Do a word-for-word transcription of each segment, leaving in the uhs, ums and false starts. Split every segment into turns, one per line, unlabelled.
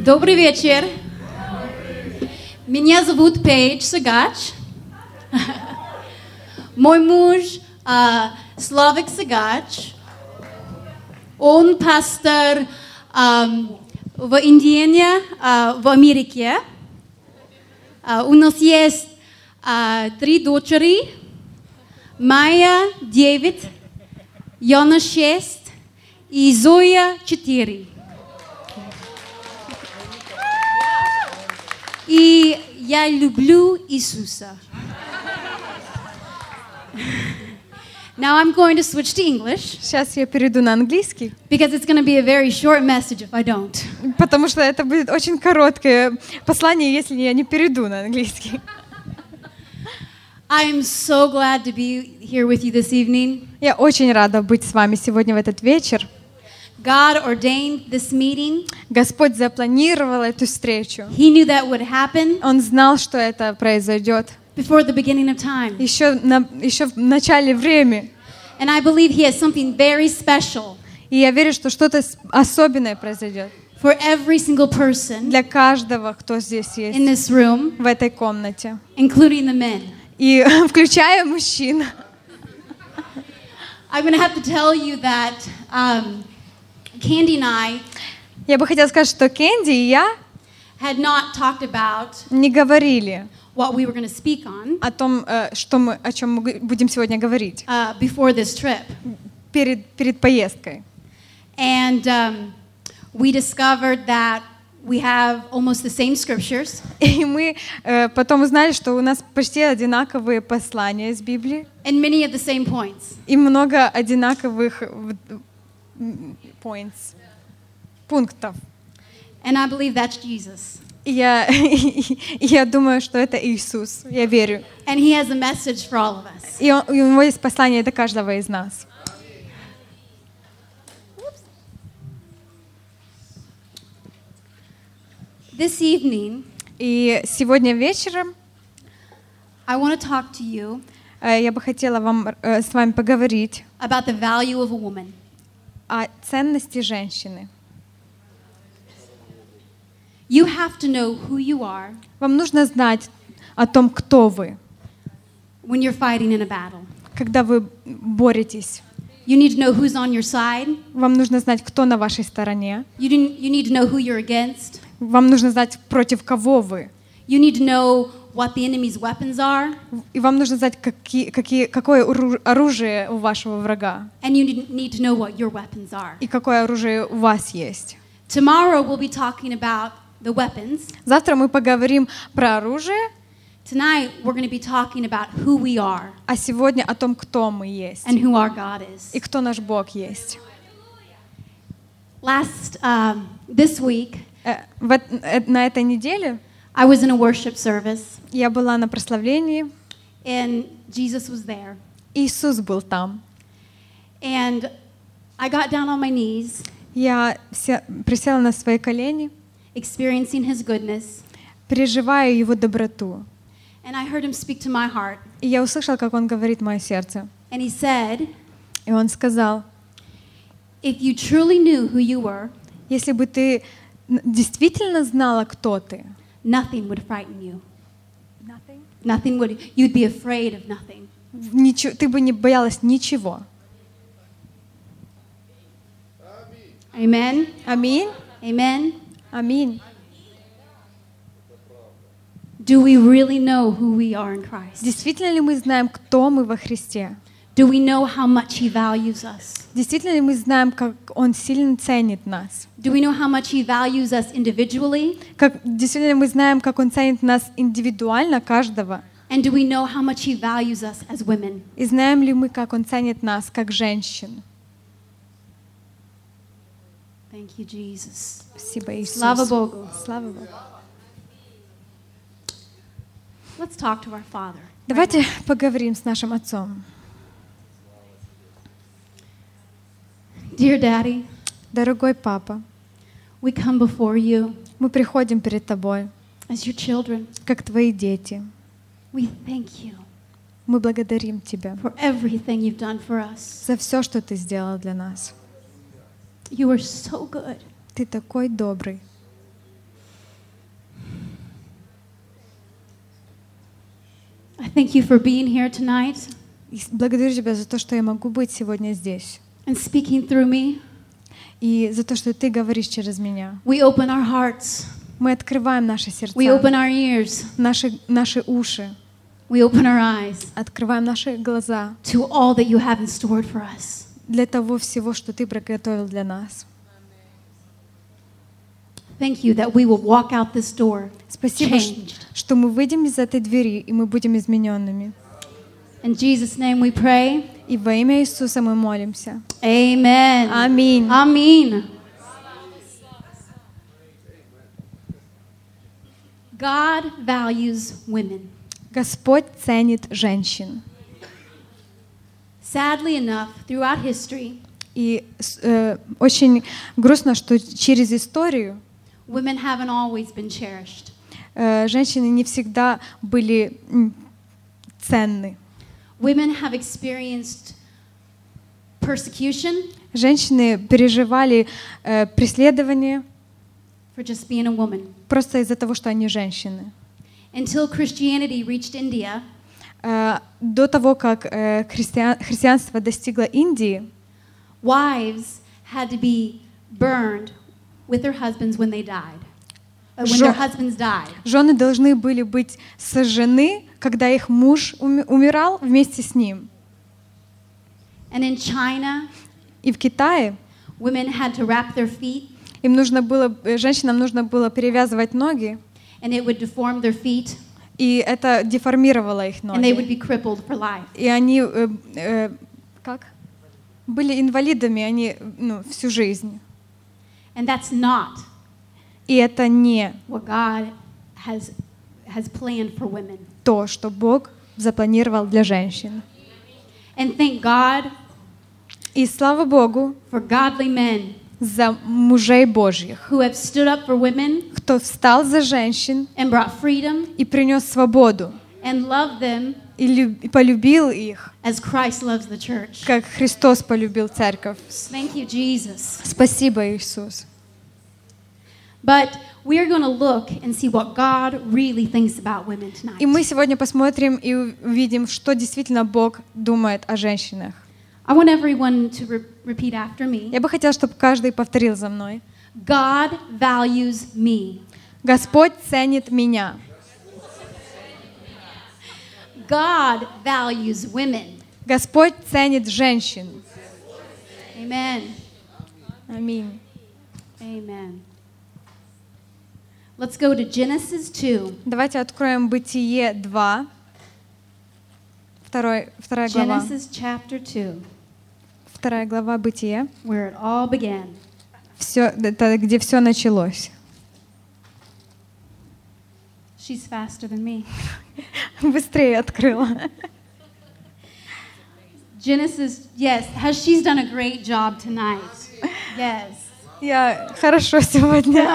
Добрый вечер. Меня зовут Пейдж Сагач. Мой муж uh, Славик Сагач. Он пастор um, в Индиане, uh, в Америке. Uh, у нас есть uh, три дочери. Майя девять, Яна шесть и Зоя четыре. И я люблю Иисуса. Now I'm going to switch to English.
Сейчас я перейду на английский.
Because it's going to be a very short message if I don't.
Потому что это будет очень короткое послание, если я не перейду на английский.
I am so glad to be here with you this evening.
Я очень рада быть с вами сегодня в этот вечер.
God ordained this meeting.
Господь запланировал эту встречу.
He knew that would happen.
Он знал, что это произойдет.
Before the beginning of time.
Еще, на, еще в начале времени.
And I believe He has something very special.
И я верю, что что-то особенное произойдет.
For every single person.
Для каждого, кто здесь есть.
In this room.
В этой комнате.
Including the men.
И включая мужчин.
I'm going to have to tell you that um, Candy and I.
Я бы хотела сказать, что Кэнди и я
had not talked about
не говорили
what we were going to speak on
о том, что мы, о чем мы будем сегодня говорить
uh, before this trip.
перед, перед поездкой.
And um, we discovered that we have almost the same scriptures.
И мы э, потом узнали, что у нас почти одинаковые послания из Библии.
And many of the same points.
И много одинаковых points, пунктов.
And I believe that's Jesus.
И я, я думаю, что это Иисус. Я верю.
And He has a message for all of us.
И, он, и у Него есть послание для каждого из нас.
This evening,
и сегодня вечером
I want to talk to you
я бы хотела вам, с вами поговорить
about the value of a woman.
О ценности женщины.
You have to know who you are.
Вам нужно знать о том, кто вы.
When you're fighting in a battle.
Когда вы боретесь.
You need to know who's on your side.
Вам нужно знать, кто на вашей стороне.
You, didn't, you need to know who you're against.
Вам нужно знать, против кого вы.
You need to know what the enemy's weapons are.
И вам нужно знать, какие, какие, какое оружие у вашего врага.
And you need to know what your weapons are.
И какое оружие у вас есть.
Tomorrow we'll be talking about the weapons.
Завтра мы поговорим про оружие.
Tonight we're going to be talking about who we are.
А сегодня о том, кто мы есть.
And who our God is.
И кто наш Бог есть.
Last um, this week,
э, в, э, на этой неделе
I was in a worship service.
Я была на прославлении.
And Jesus was there.
Иисус был там.
And I got down on my knees.
Я присела на свои колени.
Experiencing His goodness.
Переживая Его доброту.
And I heard Him speak to my heart.
И я услышала, как Он говорит в мое сердце.
And He said,
и Он сказал,
if you truly knew who you were,
если бы ты действительно знала, кто ты,
nothing would frighten you.
Nothing?
Nothing would. You'd be afraid of nothing.
Ничего, ты бы не боялась ничего.
Amen.
Аминь.
Amen.
Аминь.
Do we really know who we are in Christ?
Действительно ли мы знаем, кто мы во Христе?
Do we know how much He values us?
Действительно ли мы знаем, как Он сильно ценит нас?
Do we know how much He values us individually?
Как, действительно ли мы знаем, как Он ценит нас индивидуально, каждого?
And do we know how much He values us as women?
И знаем ли мы, как Он ценит нас, как женщин?
Thank you, Jesus.
Спасибо, Иисус.
Слава Богу.
Слава Богу.
Let's talk to our Father.
Давайте поговорим с нашим Отцом.
Dear Daddy,
дорогой Папа,
we come before you
мы приходим перед Тобой,
as your children.
как Твои дети.
We thank you
Мы благодарим Тебя
for everything you've done for us.
за все, что Ты сделал для нас.
You are so good.
Ты такой добрый.
thank you for being here tonight
И благодарю Тебя за то, что я могу быть сегодня здесь.
and speaking through me.
И за то, что Ты говоришь через меня.
We open our hearts.
Мы открываем наши сердца,
We open our ears.
наши, наши уши,
We open our eyes
открываем наши глаза
to all that you have in store for us.
для того всего, что Ты приготовил для нас.
Thank you that we will walk out this door
Спасибо, ш-
changed.
что мы выйдем из этой двери, и мы будем измененными.
In Jesus' name we pray.
И во имя Иисуса мы молимся.
Amen.
Аминь.
Amen. God values women.
Господь ценит женщин.
Sadly enough, throughout history,
И с- э, очень грустно, что через историю
women haven't always been cherished.
э, женщины не всегда были м, ценны.
Women have experienced persecution
Женщины переживали э, преследование
for just being a woman.
просто из-за того, что они женщины.
Until Christianity reached India,
Э, До того, как э, христиан- христианство достигло Индии,
wives had to be burned with their husbands when they died. Uh, when
Жё-
their husbands died.
жены должны были быть сожжены, когда их муж уми- умирал вместе с ним.
And in China,
И в Китае
women had to wrap their feet,
им нужно было, э, женщинам нужно было перевязывать ноги,
and it would deform their feet,
и это деформировало их
and they would
ноги.
be crippled for life.
И они э, э, как? Были инвалидами, они ну, всю жизнь.
And that's not
И это не
what God has, has planned for women.
то, что Бог запланировал для женщин.
And thank God
И слава Богу
for godly men
за мужей Божьих,
who have stood up for women
кто встал за женщин
and brought freedom
и принес свободу,
and loved them
и, люб- и полюбил их,
as Christ loves the church.
как Христос полюбил церковь.
Thank you, Jesus.
Спасибо, Иисус.
But we are going to look and see what God really thinks about women tonight.
И мы сегодня посмотрим и увидим, что действительно Бог думает о женщинах.
I want everyone to re- repeat after me.
Я бы хотела, чтобы каждый повторил за мной.
God values me.
Господь ценит меня.
God values women.
Господь ценит женщин.
Amen.
Аминь.
Amen. Let's go to Genesis two.
Давайте откроем Бытие два, второй, вторая глава.
Genesis chapter two,
Вторая глава Бытия.
where it all began.
Все, это где все началось.
She's faster than me.
Быстрее открыла.
Genesis, yes, has she's done a great job tonight. Yes.
Я хорошо сегодня.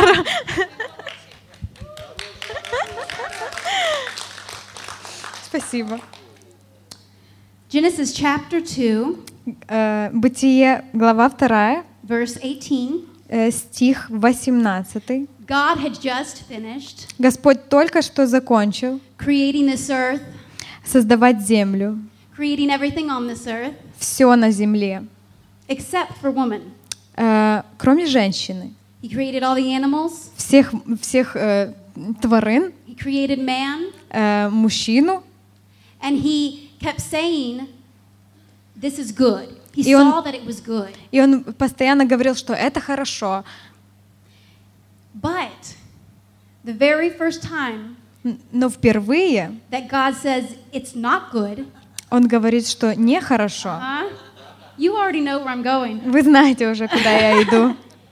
Спасибо.
Genesis chapter two,
Э, Бытие, глава вторая,
verse eighteen.
э, стих восемнадцатый.
God had just finished
Господь только что закончил
creating this earth,
создавать землю,
creating everything on this earth,
все на земле,
except for woman.
э, кроме женщины.
He created all the animals.
Всех, всех э, тварин,
He created man.
э, мужчину,
And he kept saying, this is good. He
И он-
saw that it was good.
и он постоянно говорил, что это хорошо.
But the very first time
Н- Но впервые
that God says it's not good,
он говорит, что нехорошо.
huh? You already know where I'm going,
Вы знаете уже, куда я иду.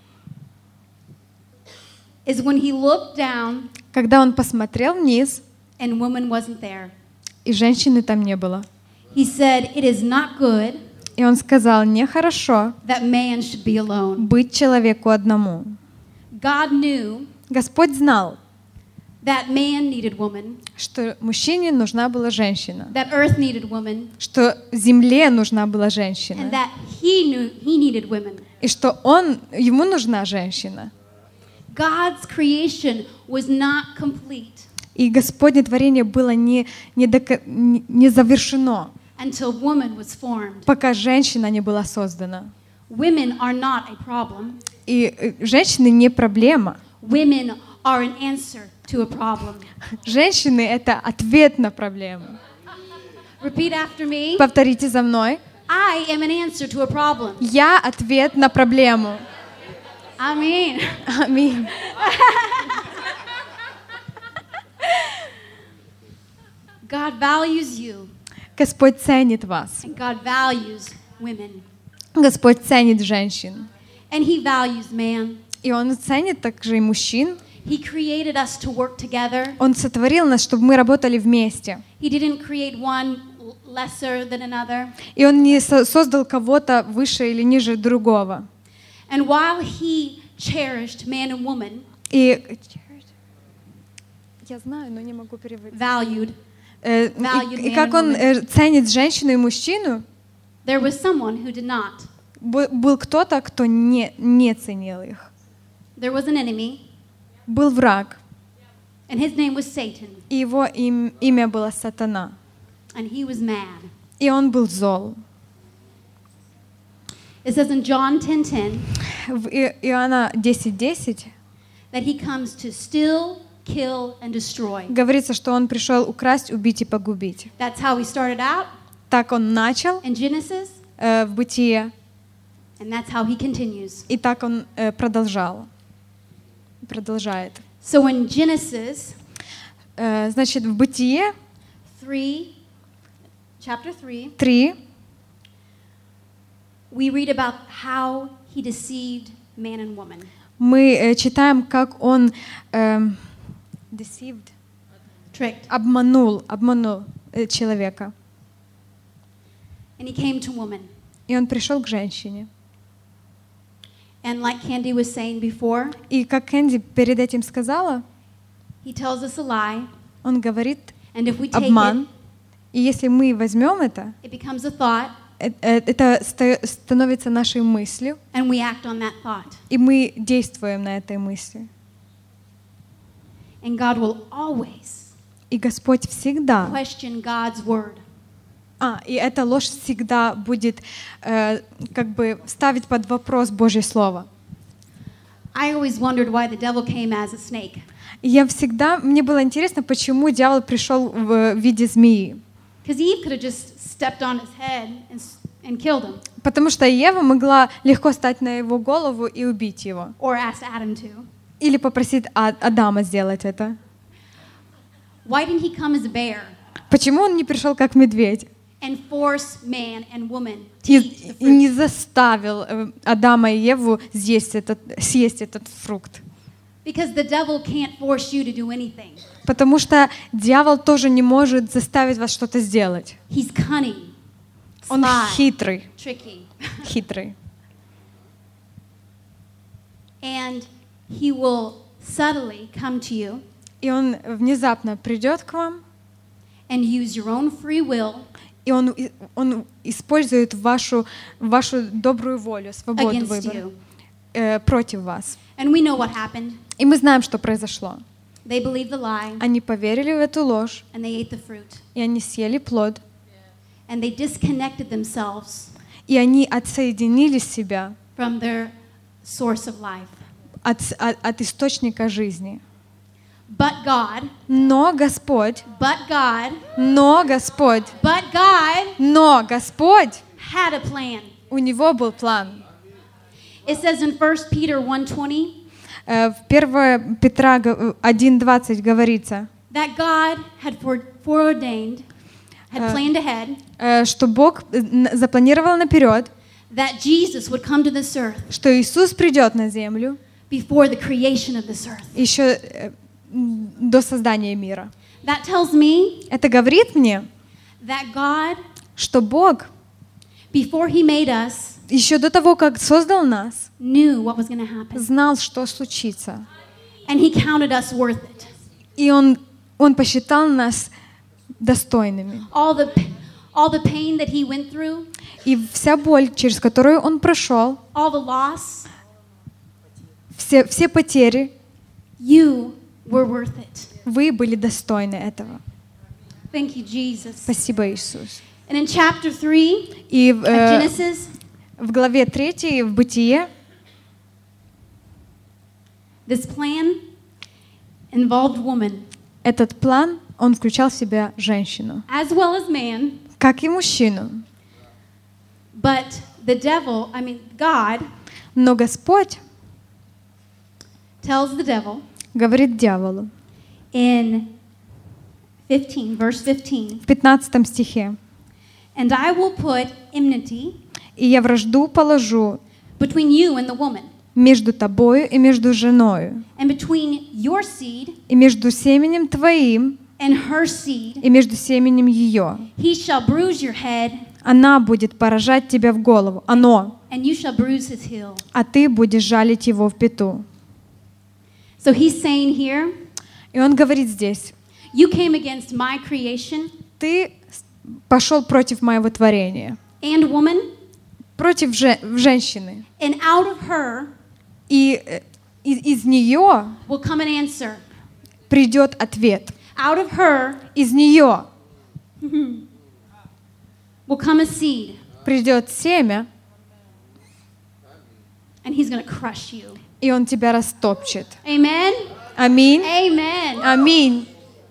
is when he looked down
Когда он посмотрел вниз,
and woman wasn't there.
и женщины там не было.
He said, it is not good
И он сказал, нехорошо
that man should be alone.
быть человеку одному.
God knew
Господь знал,
that man needed woman,
что мужчине нужна была женщина,
that earth needed woman,
что земле нужна была
and
женщина,
that he knew he needed women.
и что он, ему нужна женщина.
God's creation was not complete
И Господне творение было не, не, дока- не не завершено,
until woman was formed.
пока женщина не была создана.
Women are not a problem.
И э, женщины не проблема.
Women are an answer to a problem.
Женщины — это ответ на проблему.
Repeat after me.
Повторите за мной.
I am an answer to a problem.
Я ответ на проблему.
Amen.
Аминь.
God values you,
Господь ценит вас.
and God values women.
Господь ценит женщин.
And He values man.
И Он ценит также и мужчин.
He created us to work together.
Он сотворил нас, чтобы мы работали вместе.
He didn't create one l- lesser than another.
И Он не со- создал кого-то выше или ниже другого.
And while He cherished man and woman,
И я знаю, но не могу переводить.
valued,
Э,
Valued
И, и
man
как
and
Он
woman.
э, ценит женщину и мужчину,
there was someone who did not.
бу- был кто-то, кто не, не ценил их.
There was an enemy,
Был враг,
and his name was Satan,
и его им- имя было Сатана.
and he was mad.
И он был зол.
It says in John ten ten
В И- Иоанна десять десять
that he comes to steal, kill, and destroy.
говорится, что он пришел украсть, убить и погубить.
That's how he started out
Так он начал
in Genesis,
э, в Бытие,
and that's how he continues.
и так он э, продолжал. Продолжает.
So in Genesis
Э, значит, в Бытие
three, chapter three,
три
we read about how he deceived man and woman.
мы э, читаем, как он эм, deceived,
Tricked.
обманул, обманул э, человека.
And he came to woman.
И он пришел к женщине.
And like Candy was saying before,
И как Кэнди перед этим сказала,
he tells us a lie,
он говорит
and if we take
обман. И если мы возьмем это,
it, it becomes a thought,
э- э, это ста- становится нашей мыслью,
and we act on that thought.
и мы действуем на этой мысли.
And God will always
И Господь всегда,
question God's word.
а, и эта ложь всегда будет э, как бы ставить под вопрос Божье Слово.
I always wondered why the devil came as a snake.
И я всегда, мне было интересно, почему дьявол пришел в виде змеи.
Because Eve could have just stepped on his head and, s- and killed him,
Потому что Ева могла легко стать на его голову и убить его.
or asked Adam to.
Или попросить А- Адама сделать это.
Why didn't he come as a bear
Почему он не пришел как медведь
and force man and woman to
и,
eat the
и не
fruit?
заставил э, Адама и Еву съесть этот, съесть этот фрукт?
Because the devil can't force you to do anything.
Потому что дьявол тоже не может заставить вас что-то сделать.
He's cunning,
Он
sly,
хитрый,
tricky,
хитрый.
and he will subtly come to you
И он внезапно придет к вам,
and use your own free will
и он, и- он использует вашу, вашу добрую волю, свободу
against
выбора
you.
э, против вас.
And we know what happened.
И мы знаем, что произошло.
They believed the lie
Они поверили в эту ложь,
and they ate the fruit.
и они съели плод,
And they disconnected themselves
и они отсоединили себя
from their source of life.
от, с- от, от источника жизни.
But God,
Но Господь,
but God,
но Господь,
but God
но Господь,
had a plan.
у Него был план.
It says in First Peter one twenty
Э, В первое Петра один двадцать говорится,
that God had fore- foreordained, had
Uh,
planned ahead,
э, что Бог э, н- запланировал наперед,
that Jesus would come to this earth
что Иисус придет на землю
before the creation of this earth.
еще э, м, до создания мира.
That tells me
Это говорит мне,
that God,
что Бог
before He made us,
еще до того, как создал нас,
knew what was going to happen.
знал, что случится.
And He counted us worth it.
И Он, он посчитал нас достойными.
All the, all the pain that He went through,
И вся боль, через которую Он прошел,
all the loss,
все, все потери,
you were worth it.
Вы были достойны этого.
Thank you, Jesus.
Спасибо, Иисус.
And in chapter three
И в,
of
э,
Genesis,
в главе третьей, в Бытие,
this plan involved woman
этот план, он включал в себя женщину,
as well as man,
как и мужчину.
but the devil, I mean God,
Но Господь
tells the devil
говорит дьяволу
in fifteen, verse fifteen,
в пятнадцатом стихе:
and I will put enmity
«И я вражду положу
between you and the woman,
между тобою и между женою,
and between your seed
и между семенем твоим,
and her seed.
и между семенем ее.
He shall bruise your head,
Она будет поражать тебя в голову, оно,
and you shall bruise his heel."
а ты будешь жалить его в пяту».
So he's saying here,
И он говорит здесь:
you came against my creation
ты пошел против моего творения,
and woman,
против же- женщины,
and out of her
и э, из, из нее
will come an answer.
придет ответ.
Out of her
Из нее
will come a seed,
придет семя,
and he's going to crush you.
и он тебя растопчет.
Amen?
Аминь.
Amen.
Аминь.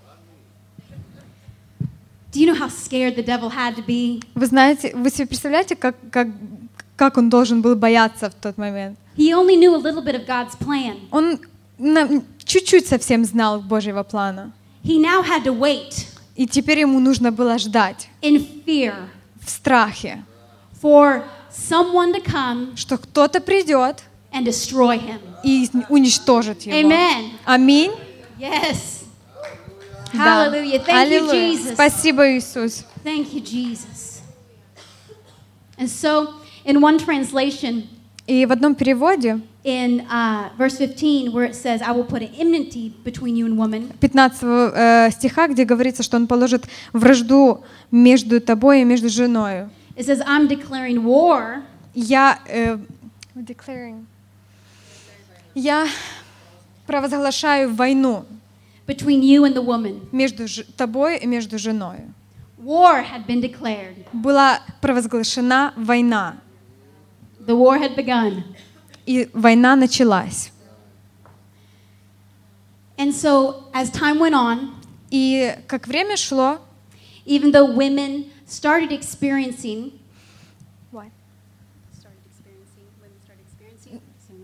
Do you know how scared the devil had to be?
Вы знаете, вы себе представляете, как, как, как он должен был бояться в тот момент?
He only knew a little bit of God's plan.
Он на- чуть-чуть совсем знал Божьего плана.
He now had to wait
И теперь ему нужно было ждать
in fear
в страхе,
for someone to come
что кто-то придет
and destroy him.
и уничтожит его.
Amen.
Аминь.
Yes.
Да.
Hallelujah. Thank you,
Аллилуйя.
Jesus.
Спасибо, Иисус.
Thank you, Jesus. And so, in one translation,
И в одном переводе,
in uh, verse fifteen, where it says, "I will put an enmity between you and woman,"
пятнадцатого э, стиха, где говорится, что он положит вражду между тобой и между женою.
it says, "I'm declaring war
Я, э, declaring. Я провозглашаю войну
between you and the woman."
между ж- тобой и между женой.
War had been declared.
Была провозглашена война,
The war had begun.
и война началась.
And so, as time went on,
И как время шло,
even though women started experiencing,
What?
started experiencing, women started experiencing,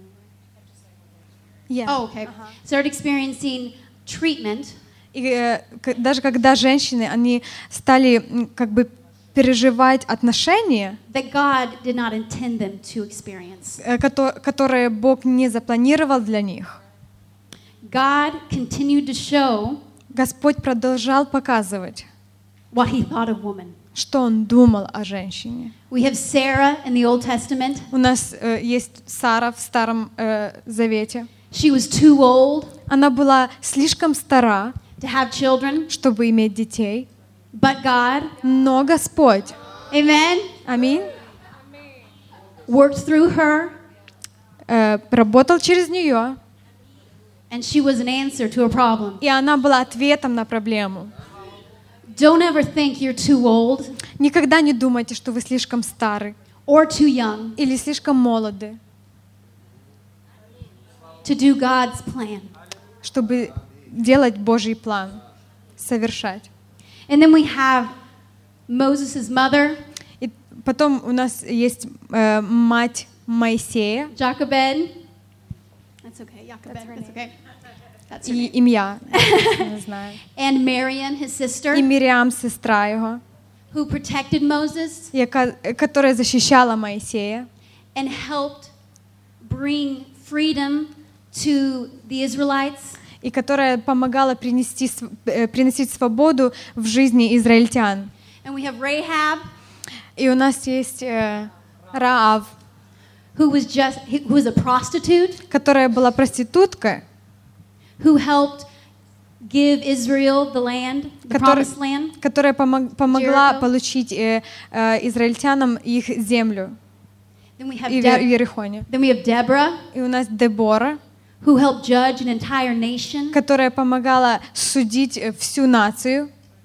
yeah.
oh, okay, started experiencing treatment,
И э, к- даже когда женщины, они стали м, как бы переживать отношения,
that God did not intend them to experience.
э, кото- которые Бог не запланировал для них,
God continued to show
Господь продолжал показывать,
what He thought of woman.
что Он думал о женщине.
We have Sarah in the Old Testament.
У нас э, есть Сара в Старом э, Завете.
She was too old
Она была слишком стара,
to have children,
чтобы иметь детей,
but God,
но Господь,
amen,
аминь,
worked through her,
э, работал через нее,
and she was an answer to a problem.
и она была ответом на проблему.
Don't ever think you're too old
Никогда не думайте, что вы слишком стары
or too young
или слишком молоды,
to do God's plan.
чтобы делать Божий план, совершать.
And then we have Moses' mother,
И потом у нас есть э, мать Моисея,
Jochebed. That's okay, Jochebed. That's okay. That's her
и
name.
имя, не знаю,
And Miriam, his sister,
и Мириам, сестра его,
who protected Moses
яка- которая защищала Моисея
and helped bring freedom to the Israelites.
и которая помогала принести, св- э, приносить свободу в жизни израильтян.
And we have Rahab,
И у нас есть э, Раав,
who was just who was a prostitute,
которая была проституткой,
who helped give Israel the land, the
Который-
promised land.
которая помог- помогла
Jericho.
получить э, э, израильтянам их землю
Then we have
и в
Deb-
Иерихоне.
then we have Deborah,
И у нас Дебора,
who helped judge an entire nation,
которая помогала судить э, всю нацию,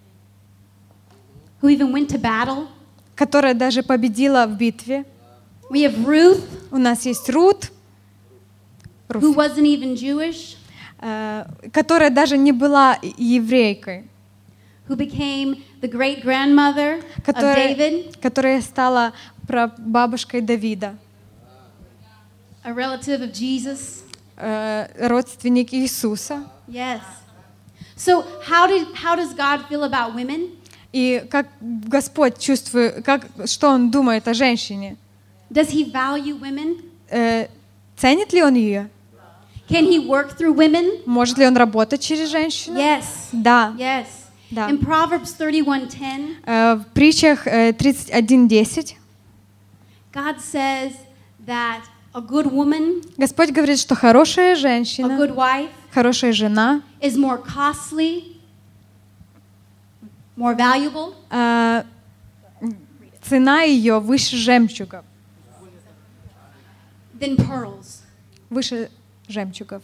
who even went to battle.
которая даже победила в битве.
We have Ruth,
У нас есть Рут,
who
Руф,
wasn't even Jewish,
э, которая даже не была еврейкой,
who became the great grandmother of
которая,
David,
которая стала прабабушкой Давида,
a relative of Jesus.
э, родственник Иисуса.
Yes. So how did how does God feel about women?
И как Господь чувствует, как, что Он думает о женщине?
Does he value women?
Э, ценит ли Он ее?
Can he work through women?
Может ли Он работать через женщину?
Yes.
Да.
Yes.
Да.
In Proverbs thirty-one ten,
Э, в притчах э, тридцать один десять
God says that a good woman,
Господь говорит, что хорошая
a
женщина,
good wife,
хорошая жена,
is more costly, more valuable
э, цена ее выше жемчуга,
than pearls.
выше жемчугов.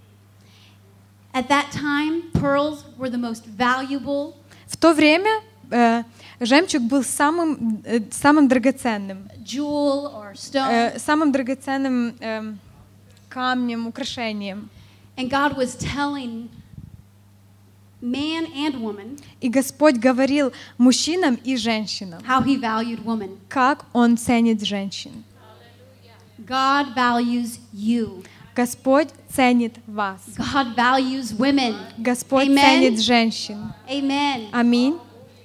At that time, pearls were the most valuable
В то время э, жемчуг был самым, э, самым драгоценным,
jewel or stone.
э, самым драгоценным э, камнем, украшением.
And God was telling man and woman
И Господь говорил мужчинам и женщинам,
how he valued woman.
как Он ценит женщин.
God values you.
Господь ценит вас.
God values women.
Господь
Amen.
ценит женщин.
Amen.
Аминь.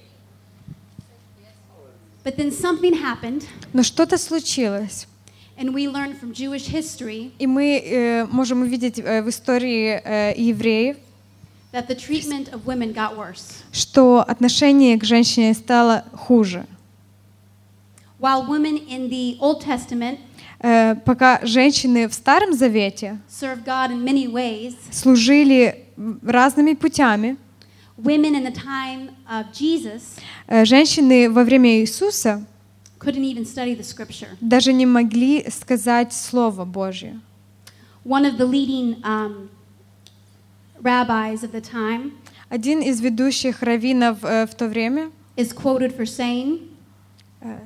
But then something happened,
Но что-то случилось.
and we learned from Jewish history
И мы э, можем увидеть э, в истории э, евреев,
that the treatment of women got worse.
что отношение к женщине стало хуже.
While women in the Old Testament
Э, пока женщины в Старом Завете
served God in many ways,
служили разными путями,
women in the time of Jesus
э, женщины во время Иисуса
couldn't even study the scripture.
даже не могли сказать Слово Божье.
One of the leading um, rabbis of the time
Один из ведущих раввинов э, в то время
is quoted for saying,
э,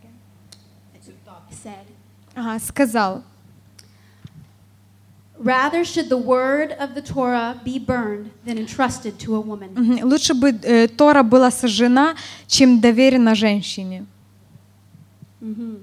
said,
ага, сказал,
"Rather should the word of the Torah be burned than entrusted to a woman."
мгм, лучше бы э, Тора была сожжена, чем доверена женщине.
Mhm.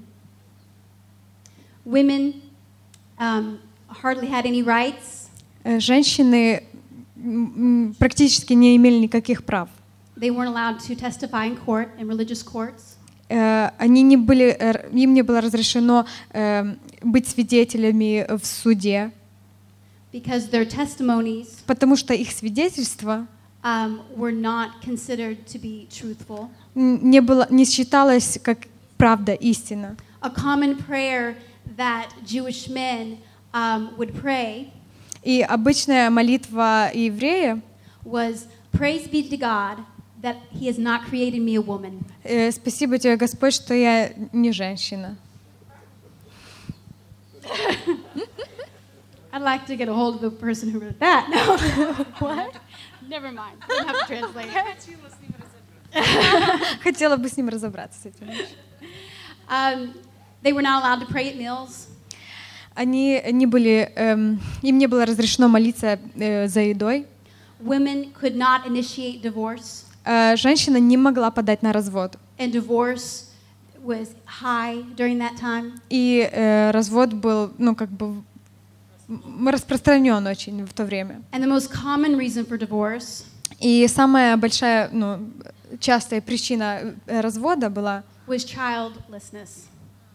Women um, hardly had any rights.
Э, Женщины м, м, практически не имели никаких прав.
They weren't allowed to testify in court, in religious courts.
Э, Они не были, э, им не было разрешено э, быть свидетелями в суде,
Because their testimonies
потому что их свидетельство
um, were not considered to be truthful.
м, не было, не считалось как правда, истина.
A common prayer that Jewish men um, would pray
И обычная молитва еврея
was, "Praise be to God that He has not created me a woman."
э, «Спасибо тебе, Господь, что я не женщина».
I'd like to get a hold of the person who wrote that. No. What? Never mind. I don't have to translate it.
Хотела бы с ним разобраться с этим.
Um, they were not allowed to pray at meals.
Они не были, эм, им не было разрешено молиться э, за едой.
Women could not initiate divorce,
Э, женщина не могла подать на развод.
and divorce was high during that time.
И э, развод был, ну, как бы м, распространен очень в то время.
And the most common reason for divorce
И самая большая, ну, частая причина э, развода была
was childlessness.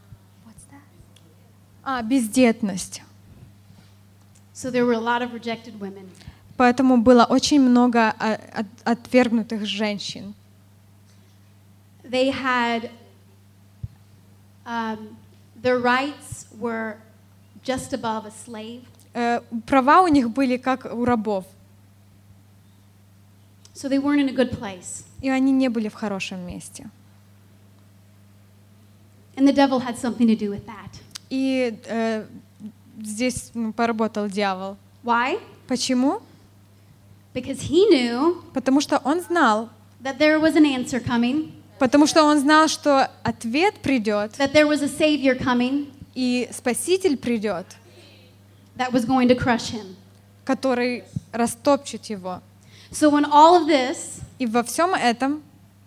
а, бездетность.
So there were a lot of rejected women.
Поэтому было очень много а, от- отвергнутых женщин.
They had um, their rights were just above a slave.
Э, Права у них были как у рабов,
So they weren't in a good place.
и они не были в хорошем месте.
And the devil had something to do with that.
И э, здесь ну, поработал дьявол.
Why?
Почему?
Because he knew
Потому что он знал,
that there was an answer coming,
потому что он знал, что ответ придет,
that there was a Savior coming
и Спаситель придет,
that was going to crush him.
который растопчет его.
So in all of this,
И во всем этом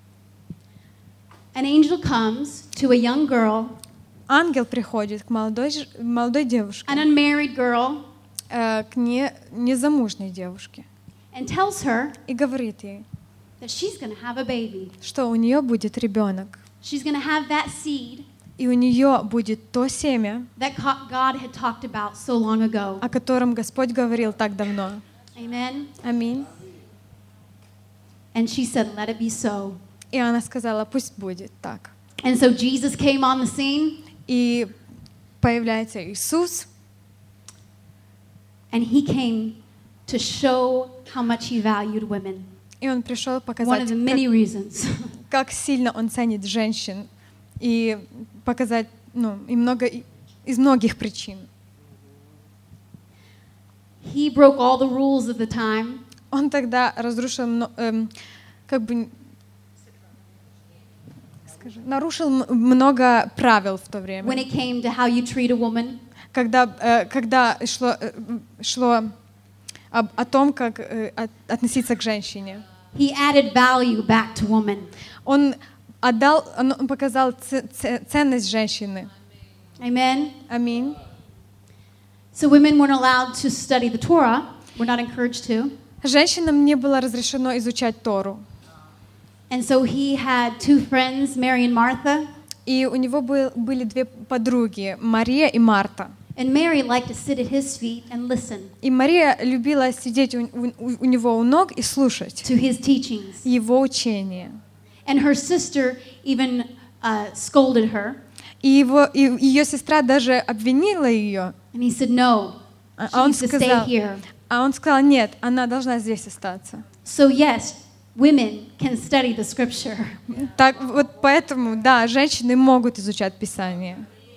an angel comes to a young girl,
ангел приходит к молодой, ж- молодой девушке,
an unmarried girl,
э, к не, незамужней девушке,
and tells her
и говорит ей,
that she's going to have a baby.
что у нее будет ребенок,
She's going to have that seed
и у нее будет то семя,
that co- God had talked about so long ago.
о котором Господь говорил так давно.
Amen.
Аминь.
And she said, "Let it be so."
И она сказала, пусть будет так.
And so Jesus came on the scene,
И появляется Иисус,
and he came to show how much he valued women.
и Он пришел
One of
показать,
the many reasons.
как, как сильно Он ценит женщин, и показать, ну, и много, и- из многих причин.
He broke all the rules of the time.
Он тогда разрушил, мно- эм, как бы, скажи, нарушил м- много правил в то
When
время,
it came to how you treat a woman,
когда, э, когда шло, э, шло об- о том, как э, от- относиться к женщине.
he added value back to woman.
Он отдал, он он показал ц- ц- ценность женщины.
Amen.
Аминь.
So women weren't allowed to study the Torah. We're not encouraged to.
Женщинам не было разрешено изучать Тору.
And so he had two friends, Mary and Martha.
И у него был- были две подруги, Мария и Марта.
And Mary liked to sit at his feet and listen
И Мария любила сидеть у, у- у него у ног и слушать
to his teachings.
его учения.
And her sister even uh, scolded her.
И, его, и ее сестра даже обвинила ее.
And he said, "No,
А
she
а он
needs to stay
сказал,
here."
а он сказал, нет, она должна здесь остаться.
So yes, women can study the scripture.
Так, вот поэтому, да, женщины могут изучать Писание.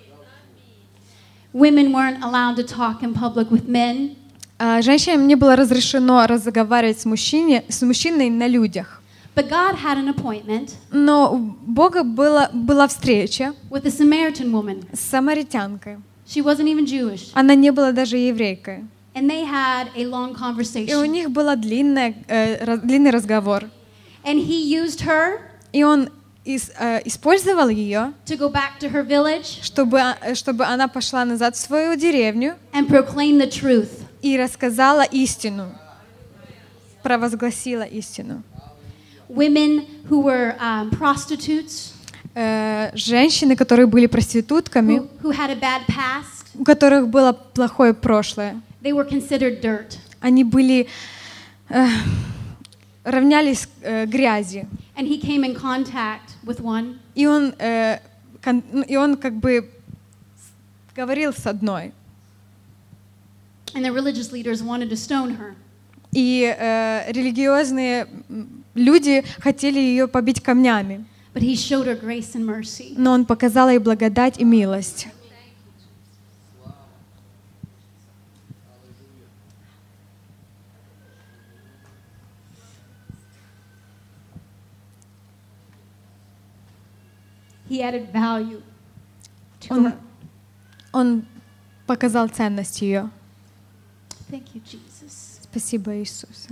Women weren't allowed to talk in public with men.
А женщинам не было разрешено разговаривать с, мужчине, с мужчиной на людях.
But God had an appointment
Но у Бога была, была встреча
with a Samaritan woman.
с самаритянкой.
She wasn't even Jewish.
Она не была даже еврейкой.
And they had a long
И у
conversation.
них был длинный, э, раз- длинный разговор.
And he used her
И он ис- э, использовал ее,
to go back to her village
чтобы, э, чтобы она пошла назад в свою деревню
and proclaim the truth.
и рассказала истину, провозгласила истину.
Women who were um, prostitutes,
Э, женщины, которые были проститутками,
who, who had a bad past,
у которых было плохое прошлое,
they were considered dirt.
они были э, равнялись э, грязи.
And he came in contact with one,
И он, э, кон- ну, и он как бы говорил с одной.
and the religious leaders wanted to stone her.
И э, религиозные м, люди хотели ее побить камнями.
But he showed her grace and mercy.
Но он показал ей благодать и милость.
He added value to
Он,
her.
он показал ценность ее.
Thank you, Jesus.
Спасибо, Иисус.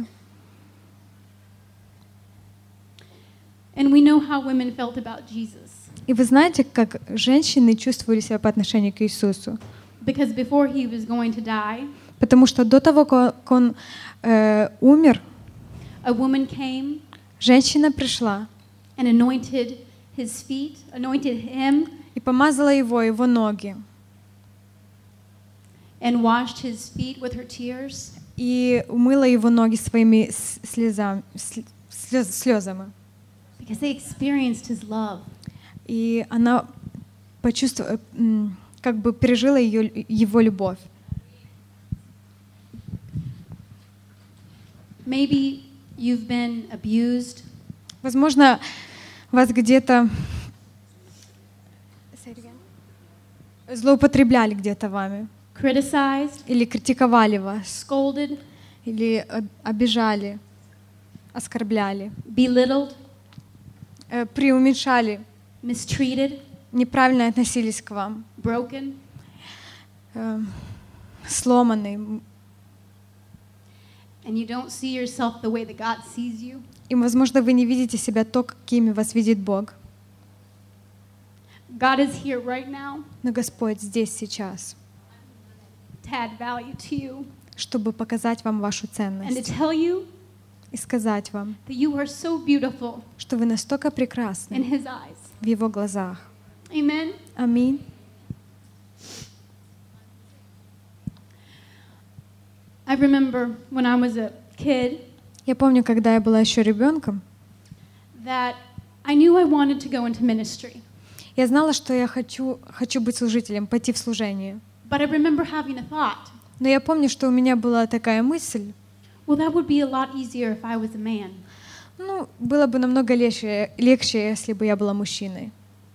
And we know how women felt about Jesus.
И вы знаете, как женщины чувствовали себя по отношению к Иисусу?
Because before he was going to die,
Потому что до того, как он э, умер,
a woman came
женщина пришла
and anointed his feet, anointed him,
и помазала его, его ноги,
and washed his feet with her tears.
и умыла его ноги своими с- слезами, сли- слез- слезами.
Because they experienced his love.
И она почувствовала, м, как бы пережила ее, его любовь.
Maybe you've been abused.
Возможно, вас где-то злоупотребляли где-то вами.
criticized,
или критиковали вас,
scolded,
или об- обижали, оскорбляли,
belittled,
э, преуменьшали,
mistreated,
неправильно относились к вам,
broken,
э, сломаны,
and you don't see yourself the way that God sees you,
и, возможно, вы не видите себя то, какими вас видит Бог.
God is here right now
Но Господь здесь сейчас,
to add value to you
чтобы показать вам вашу
and to
ценность
tell you
и сказать вам,
that you are so beautiful
что вы настолько
in
прекрасны
His eyes.
в Его глазах.
Amen.
Аминь.
I remember when I was a kid
Я помню, когда я была еще ребенком,
that I knew I wanted to go into ministry.
я знала, что я хочу, хочу быть служителем, пойти в служение.
But I remember having a thought,
Но я помню, что у меня была такая мысль,
well, that would be a lot easier if I was a man.
ну, было бы намного легче, легче, если бы я была мужчиной.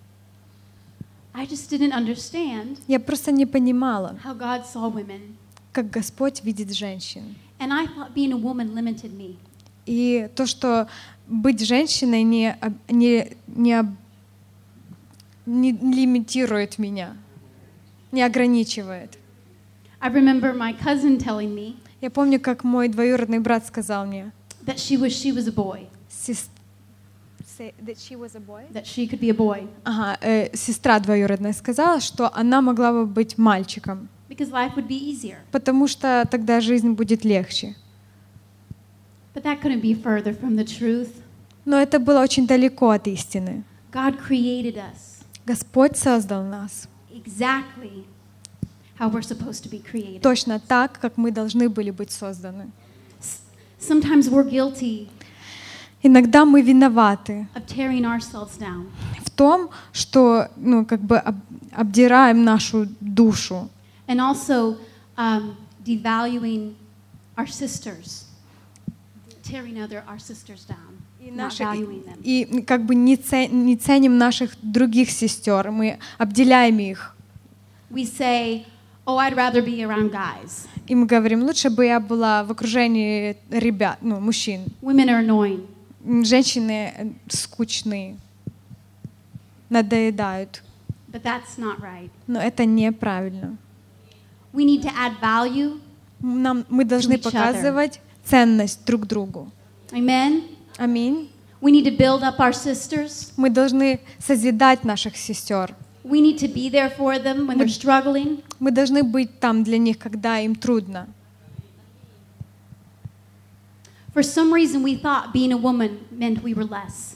I just didn't understand
Я просто не понимала,
how God saw women.
как Господь видит женщин.
And I thought being a woman limited me.
И то, что быть женщиной не, об- не, не, об- не лимитирует меня, не ограничивает.
I remember my cousin telling me
Я помню, как мой двоюродный брат сказал мне,
that she was she was a boy,
«Сес- say that she was a boy?»
that she could be a boy,
Ага, э, сестра двоюродная сказала, что она могла бы быть мальчиком,
because life would be easier.
потому что тогда жизнь будет легче.
But that couldn't be further from the truth.
Но это было очень далеко от истины.
God created us
Господь создал нас
exactly how we're supposed to be created.
точно так, как мы должны были быть созданы.
S- Sometimes we're guilty
Иногда мы виноваты
of tearing ourselves down.
в том, что, ну, как бы об- обдираем нашу душу.
And also um, devaluing our sisters, tearing other our sisters down,
И,
not
наши-
valuing them.
и как бы не, це- не ценим наших других сестер, мы обделяем их.
We say, "Oh, I'd rather be around guys.
И мы говорим, лучше бы я была в окружении ребят, ну, мужчин.
Women are annoying."
М, Женщины э, скучные, надоедают.
But that's not right.
Но это неправильно.
We need to add value.
Нам, мы должны
each other.
показывать ценность друг другу.
Amen.
Аминь.
We need to build up our sisters.
Мы должны созидать наших сестер.
We need to be there for them when they're struggling.
Мы должны быть там для них, когда им трудно.
For some reason, we thought being a woman meant we were less.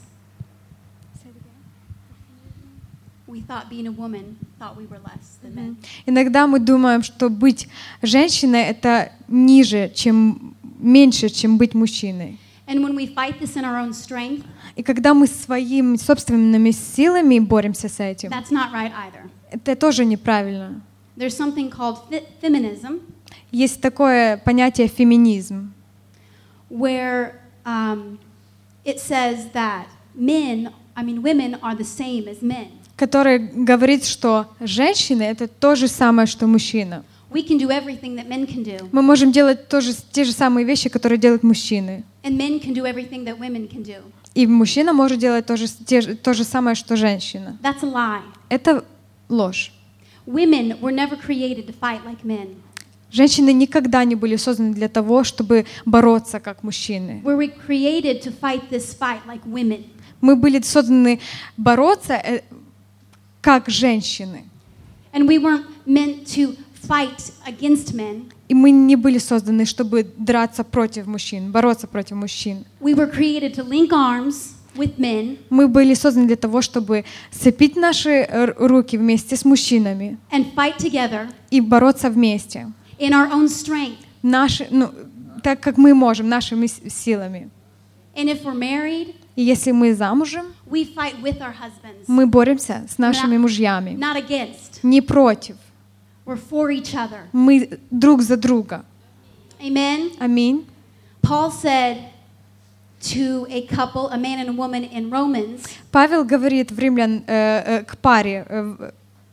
We thought being a woman thought we were less than men.
Иногда мы думаем, что быть женщиной — это ниже, чем меньше, чем быть мужчиной.
And when we fight this in our own strength,
И когда мы своими собственными силами боремся с этим,
that's not right either.
это тоже неправильно.
There's something called fe- feminism,
Есть такое понятие феминизм,
where um, it says that men, I mean, women are the same as men.
которое говорит, что женщины — это то же самое, что мужчина.
We can do everything that men can do,
Мы можем делать тоже, те же самые вещи, которые делают мужчины.
and men can do everything that women can do.
И мужчина может делать то же, те же- то же самое, что женщина.
That's a lie.
Это ложь.
Women were never created to fight like men.
Женщины никогда не были созданы для того, чтобы бороться как мужчины.
We were created to fight this fight like women.
Мы были созданы бороться э, как женщины.
And we weren't meant to fight against men.
И мы не были созданы, чтобы драться против мужчин, бороться против мужчин.
We were created to link arms with men
Мы были созданы для того, чтобы сцепить наши р- руки вместе с мужчинами
and fight together
и бороться вместе.
in our own strength.
Наши, ну, так как мы можем, нашими с- силами.
And if we're married,
И если мы замужем,
we fight with our husbands,
мы боремся с нашими мужьями.
not against.
Не против.
We're for each other.
Мы друг за друга.
Amen.
Аминь.
Paul said to a couple, a man and a woman in Romans,
Павел говорит в Римлян, э, э, к паре, э, в-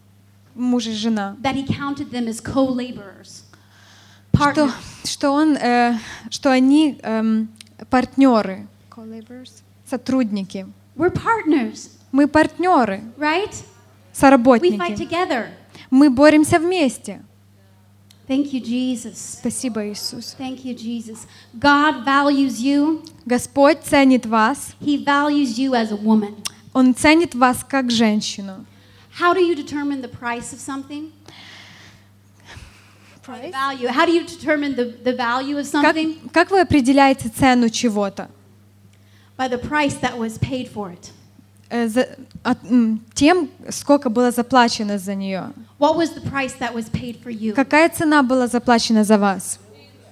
муж и жена,
that he counted them as co-laborers,
что,
partners.
что, он, э, что они эм, партнеры, сотрудники.
We're partners,
Мы партнеры,
right? We fight
соработники.
together.
Мы боремся вместе.
Thank you, Jesus.
Спасибо, Иисус.
Thank you, Jesus. God values you.
Господь ценит вас.
He values you as a woman.
Он ценит вас как женщину.
How do you determine the price of something? Or the value. How do you determine the, the value of
Как,
something?
как вы определяете цену чего-то?
By the price that was paid for it.
Э, за- от- м, тем, сколько было заплачено за нее.
What was the price that was paid for you?
Какая цена была заплачена за вас?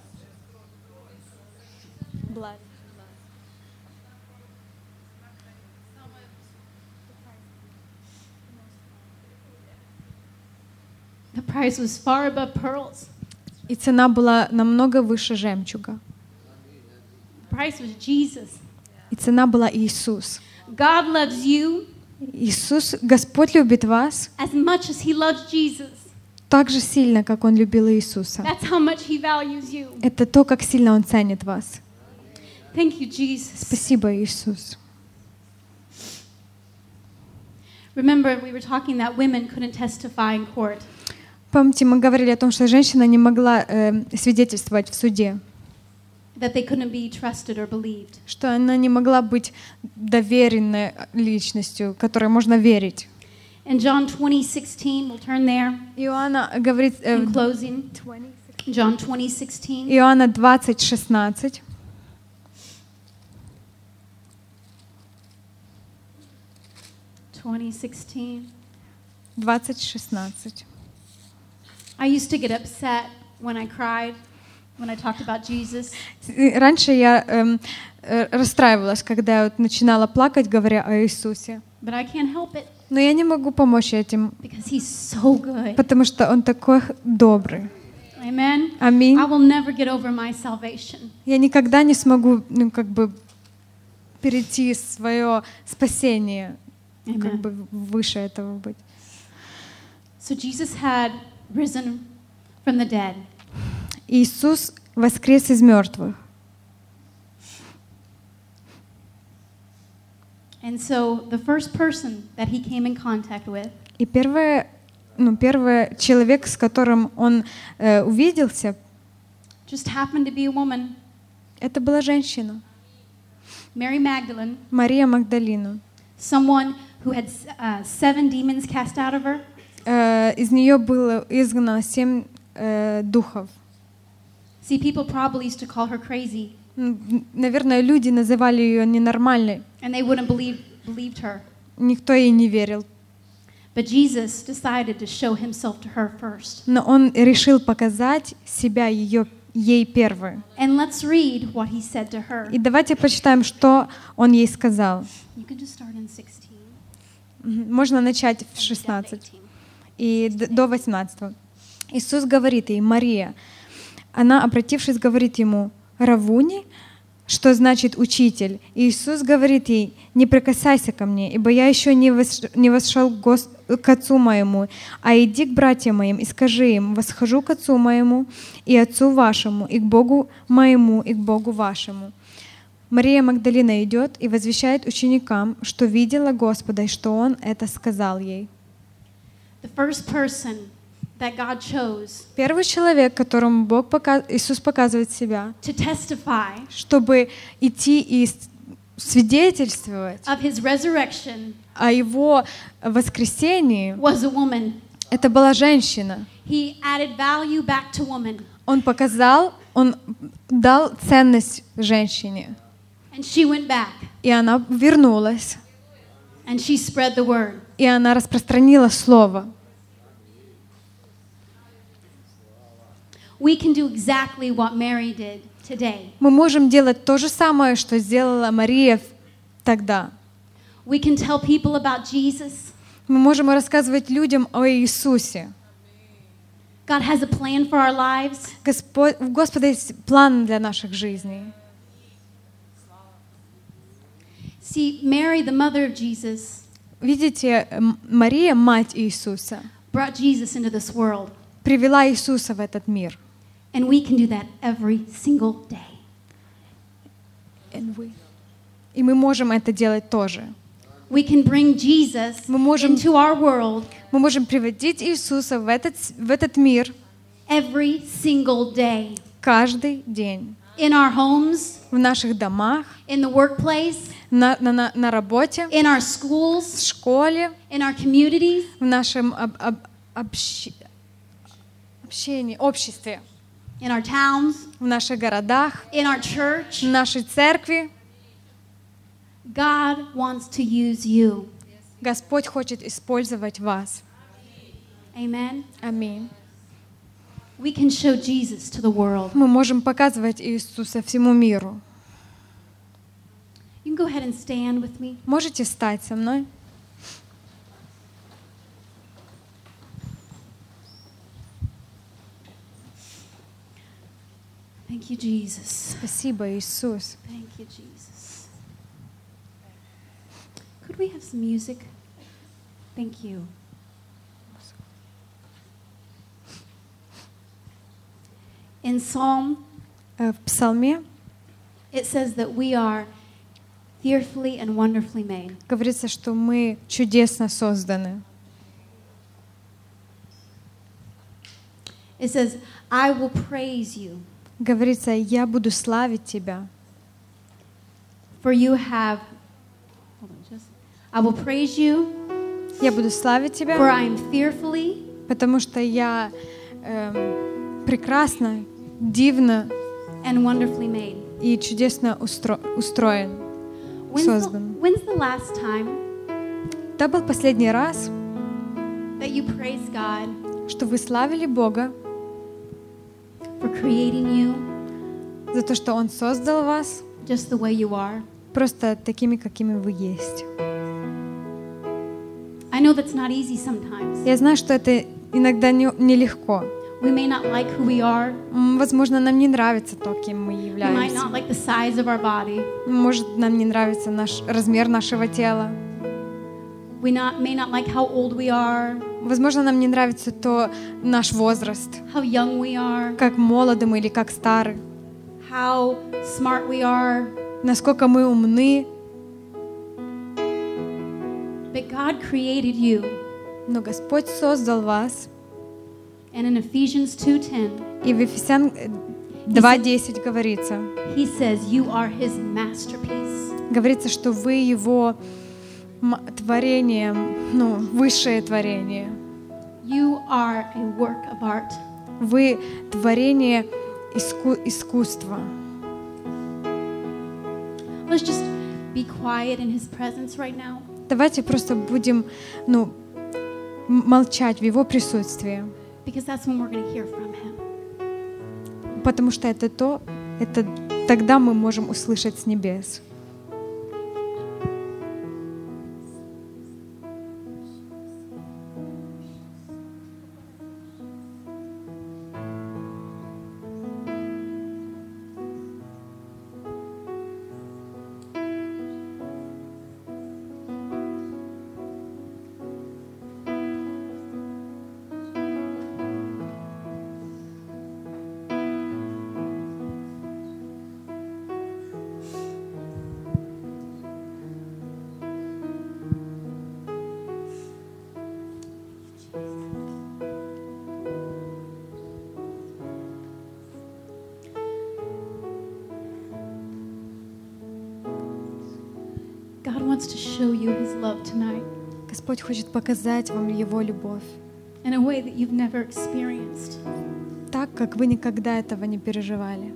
The price was far above pearls.
И цена была намного выше жемчуга.
The price was Jesus.
И цена была Иисус.
God loves you
Иисус, Господь любит вас
as much as He loves Jesus.
так же сильно, как Он любил Иисуса.
That's how much He values you.
Это то, как сильно Он ценит вас.
Thank you, Jesus.
Спасибо, Иисус.
Remember, we were talking that women couldn't testify in court.
Помните, мы говорили о том, что женщина не могла э, свидетельствовать в суде,
That they couldn't be trusted or believed.
что она не могла быть доверенной личностью, которой можно верить.
In John twenty sixteen, we'll turn there
Иоанна говорит, э,
in closing. John twenty sixteen.
Иоанна двадцать шестнадцать.
twenty sixteen.
двадцать шестнадцать.
I used to get upset when I cried, when I talked about Jesus.
И раньше я эм, э, расстраивалась, когда я вот начинала плакать, говоря о Иисусе.
But I can't help it
Но я не могу помочь этим,
because He's so good.
потому что Он такой добрый.
Amen.
Аминь.
I will never get over my salvation.
Я никогда не смогу, ну, как бы перейти свое спасение, ну, как
Amen.
бы выше этого быть.
So Jesus had risen from the dead.
Иисус воскрес из мертвых.
And so the first person that He came in contact with
И первое, ну, первый человек, с которым он э, увиделся,
just happened to be a woman,
это была женщина,
Mary Magdalene,
Мария Магдалина.
someone who had uh, seven demons cast out of her.
Э, из нее было изгнано семь э, духов.
See, people probably used to call her crazy,
М, Наверное, люди называли ее ненормальной.
and they wouldn't believe believed her.
Никто ей не верил.
But Jesus decided to show Himself to her first.
Но он решил показать себя ее, ей первой.
And let's read what He said to her.
И давайте почитаем, что он ей сказал.
You can just start in sixteen.
Мгм. Можно начать в шестнадцать и д- до восемнадцатого. Иисус говорит ей: Мария. Она, обратившись, говорит ему: Равуни, что значит учитель. И Иисус говорит ей: не прикасайся ко мне, ибо я еще не, вос- не восшел к, Гос- к Отцу моему, а иди к братьям моим и скажи им: восхожу к Отцу моему и Отцу вашему, и к Богу моему, и к Богу вашему. Мария Магдалина идет и возвещает ученикам, что видела Господа, и что Он это сказал ей.
The first person that God chose
Первый человек, которому Бог пока... Иисус показывает себя,
to testify
чтобы идти и с- свидетельствовать
of His resurrection
о Его воскресении,
was a woman.
это была женщина.
He added value back to woman,
Он показал, Он дал ценность женщине,
and she went back
и она вернулась,
and she spread the word.
и она распространила Слово.
We can do exactly what Mary did today.
Мы можем делать то же самое, что сделала Мария тогда.
We can tell people about Jesus.
Мы можем рассказывать людям о Иисусе.
God has a plan for our lives.
Господь, у Господа есть план для наших жизней.
See, Mary, the mother of Jesus,
Видите, М- Мария, мать Иисуса,
brought Jesus into this world.
привела Иисуса в этот мир.
And we can do that every single day.
И мы можем это делать тоже.
We can bring Jesus
Мы можем,
into our world
мы можем приводить Иисуса в этот, в этот мир
every single day.
каждый день.
In our homes,
В наших домах,
in the workplace,
на, на, на, на работе,
in our
в
schools,
школе,
in our communities,
в нашем об, об, общ- общении, обществе,
in our towns,
в наших городах,
in our church.
в нашей церкви.
God wants to use you.
Господь хочет использовать вас.
Amen.
Аминь.
We can show Jesus to the world.
Мы можем показывать Иисуса всему миру.
You can go ahead and stand with me.
Можете встать со мной?
Thank you, Jesus.
Спасибо, Иисус.
Thank you, Jesus. Could we have some music? Thank you. In Psalm,
Э, В Псалме
it says that we are fearfully and wonderfully made.
говорится, что мы чудесно созданы.
It says, I will praise you,
Говорится, я буду славить Тебя,
for you have, hold on, just, I will praise you,
я буду славить
for
Тебя,
I am fearfully
потому что я эм, прекрасно, дивно
and wonderfully made.
и чудесно устро- устроен,
When's the,
создан.
when's the last time
Это был последний раз,
that you praised God
что вы славили Бога
for creating you
за то, что Он создал вас
just the way you are?
просто такими, какими вы есть.
I know that's not easy sometimes.
Я знаю, что это иногда не- нелегко.
We may not like who we are.
М, Возможно, нам не нравится то, кем мы
We might
являемся.
not like the size of our body.
Может, нам не нравится наш размер нашего тела.
We not, may not like how old we are,
Возможно, нам не нравится то наш возраст,
how young we are,
как молоды мы или как стары,
how smart we are.
насколько мы умны.
But God created you.
Но Господь создал вас.
And in Ephesians two ten,
И в Ефесян два десять говорится,
he says you are his masterpiece.
говорится, что вы Его м- творение, ну, высшее творение.
You are a work of art.
Вы творение иску- искусства.
Let's just be quiet in his presence right now.
Давайте просто будем, ну, м- молчать в Его присутствии,
Because that's when we're going to hear from him.
потому что это то, это тогда мы можем услышать с небес.
God wants to show you his love tonight
Господь хочет показать вам Его любовь
in a way that you've never experienced.
так, как вы никогда этого не переживали.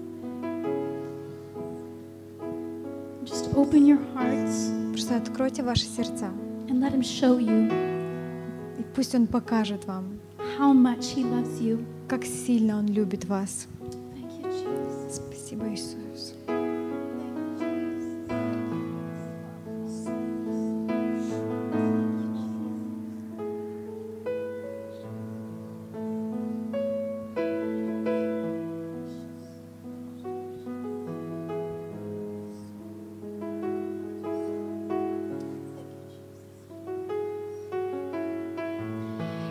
Just open your hearts
Просто откройте ваши сердца,
and let him show you
и пусть Он покажет вам,
how much he loves you.
как сильно Он любит вас.
Thank you, Jesus.
Спасибо, Иисус.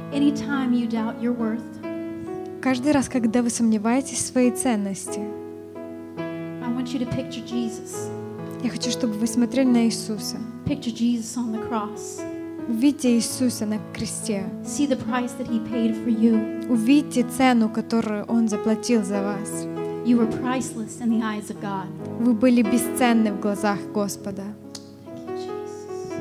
Anytime you doubt your worth,
Каждый раз, когда вы сомневаетесь в своей ценности,
I want you to picture Jesus.
я хочу, чтобы вы смотрели на Иисуса.
Picture Jesus on the cross.
Увидьте Иисуса на кресте.
See the price that He paid for you.
Увидьте цену, которую Он заплатил за вас.
You were priceless in the eyes of God.
Вы были бесценны в глазах Господа.
Thank you, Jesus.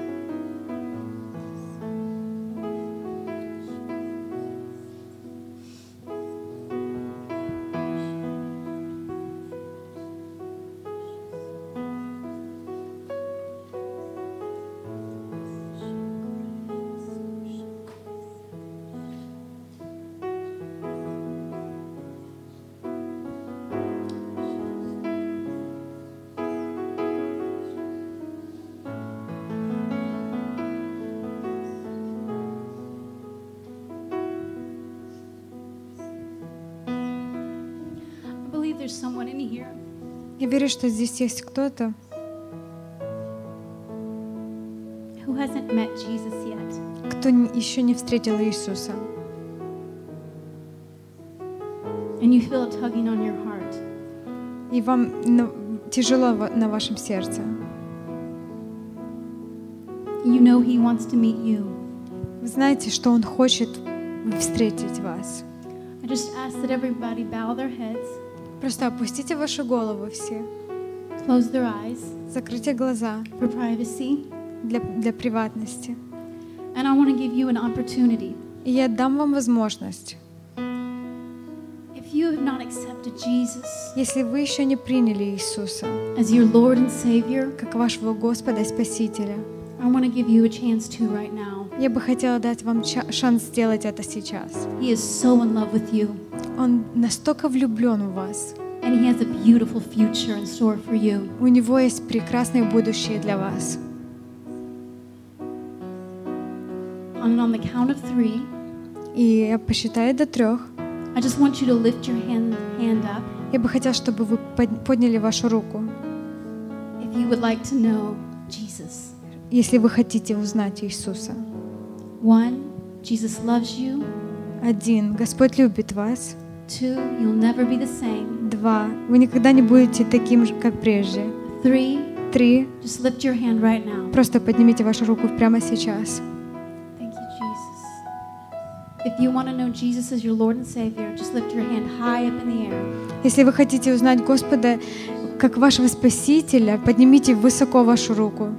I believe there's someone in here
Я верю, что здесь есть кто-то,
who hasn't met Jesus yet.
кто н- еще не встретил Иисуса.
And you feel it tugging on your heart.
И вам на- тяжело во- на вашем сердце.
You know He wants to meet you.
Вы знаете, что Он хочет встретить вас.
I just ask that everybody bow their heads,
Просто опустите вашу голову все,
close their eyes
закройте глаза
for privacy.
для, для приватности.
And I want to give you an opportunity.
И я дам вам возможность,
If you have not accepted Jesus
если вы еще не приняли Иисуса
as your Lord and Savior,
как вашего Господа и Спасителя,
I want to give you a chance to right now.
я бы хотела дать вам ча- шанс сделать это сейчас.
He is so in love with you,
Он настолько влюблен в вас.
and He has a beautiful future in store for you.
У Него есть прекрасное будущее для вас.
And on the count of three,
И я посчитаю до трех.
I just want you to lift your hand, hand up
Я бы хотела, чтобы вы под- подняли вашу руку,
if you would like to know Jesus.
если вы хотите узнать Иисуса.
One, Jesus loves you.
Один. Господь любит вас.
Two, you'll never be the same.
Два. Вы никогда не будете таким же, как прежде.
Three,
Три.
just lift your hand right now.
Просто поднимите вашу руку прямо сейчас.
Thank you, Jesus. If you want to know Jesus as your Lord and Savior, just lift your hand high up in the air.
Если вы хотите узнать Господа как вашего Спасителя, поднимите высоко вашу руку.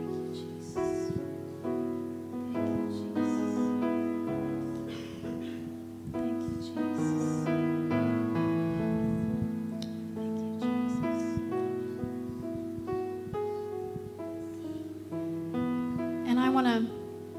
Thank you, Jesus. Thank you, Jesus. And I want to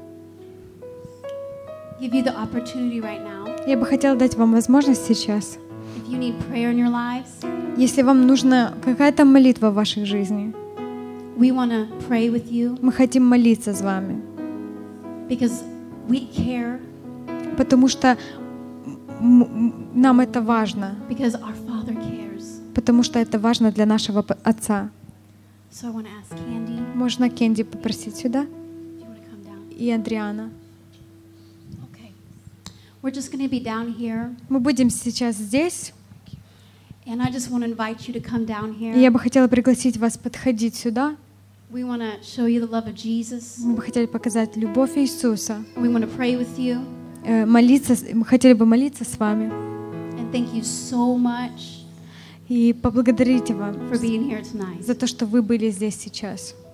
give you the opportunity right now.
Я бы хотела дать вам возможность сейчас,
If you need prayer in your lives,
если вам нужна какая-то молитва в вашей жизни,
we want to pray with you
мы хотим молиться с вами,
because we care,
потому что м- м- нам это важно,
because our Father cares.
потому что это важно для нашего п- Отца.
So I want to ask Candy,
Можно Кенди попросить сюда?
if you want to come down.
И Адриана.
Okay. We're just going to be down here,
Мы будем сейчас здесь,
and I just want to invite you to come down
и
here.
я бы хотела пригласить вас подходить сюда.
We want to show you the love of Jesus.
Мы бы хотели показать любовь Иисуса,
We want to pray with you.
э, молиться, с- мы хотели бы молиться с вами
And thank you so much
и поблагодарить вам
for being here tonight.
за то, что вы были здесь сейчас.